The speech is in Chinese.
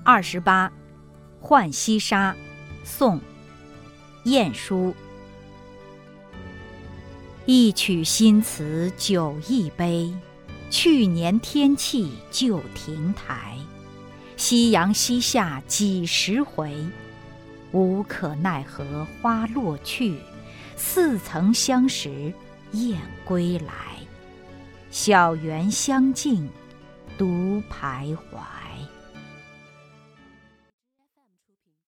28，浣溪沙，宋·晏殊。一曲新词酒一杯，去年天气旧亭台。夕阳西下几时回？无可奈何花落去，似曾相识燕归来。小园香径独徘徊。